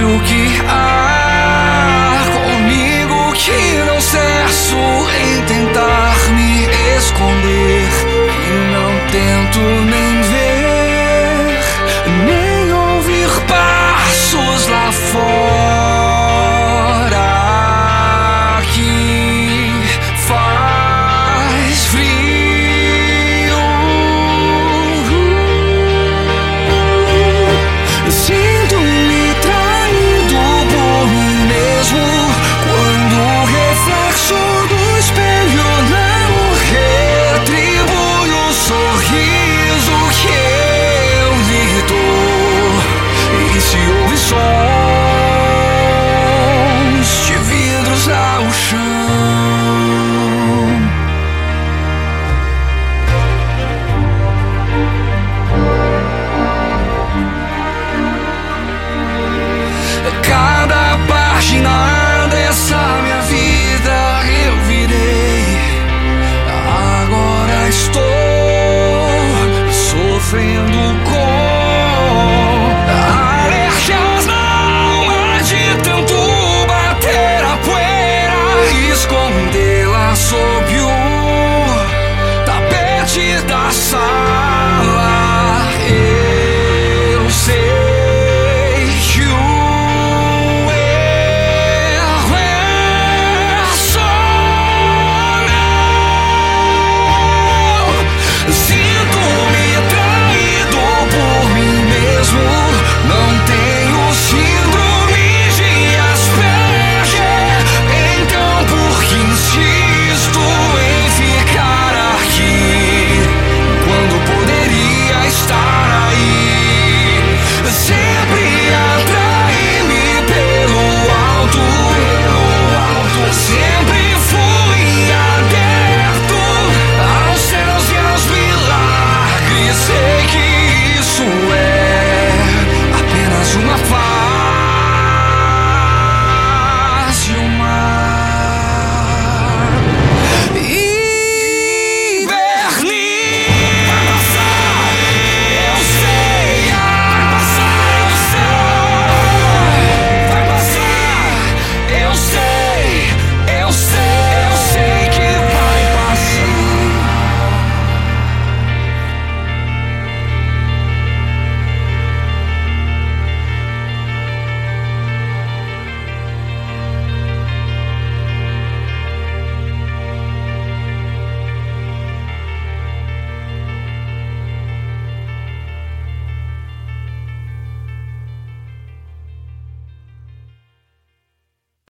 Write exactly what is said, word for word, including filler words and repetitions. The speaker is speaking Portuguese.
faço o que há comigo, que não cesso em tentar me esconder, que não tento nem ver, nem ouvir passos lá fora, que faz frio. Sinto-me traído por mim mesmo quando o reflexo do espelho não retribui o sorriso que eu lhe dou. E se ouve sons de vidros ao chão, cada página dessa minha vida eu virei. Agora estou sofrendo com alergias na alma de tanto bater a poeira, escondê-la sob o tapete da sala.